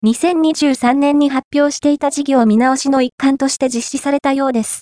2023年に発表していた事業見直しの一環として実施されたようです。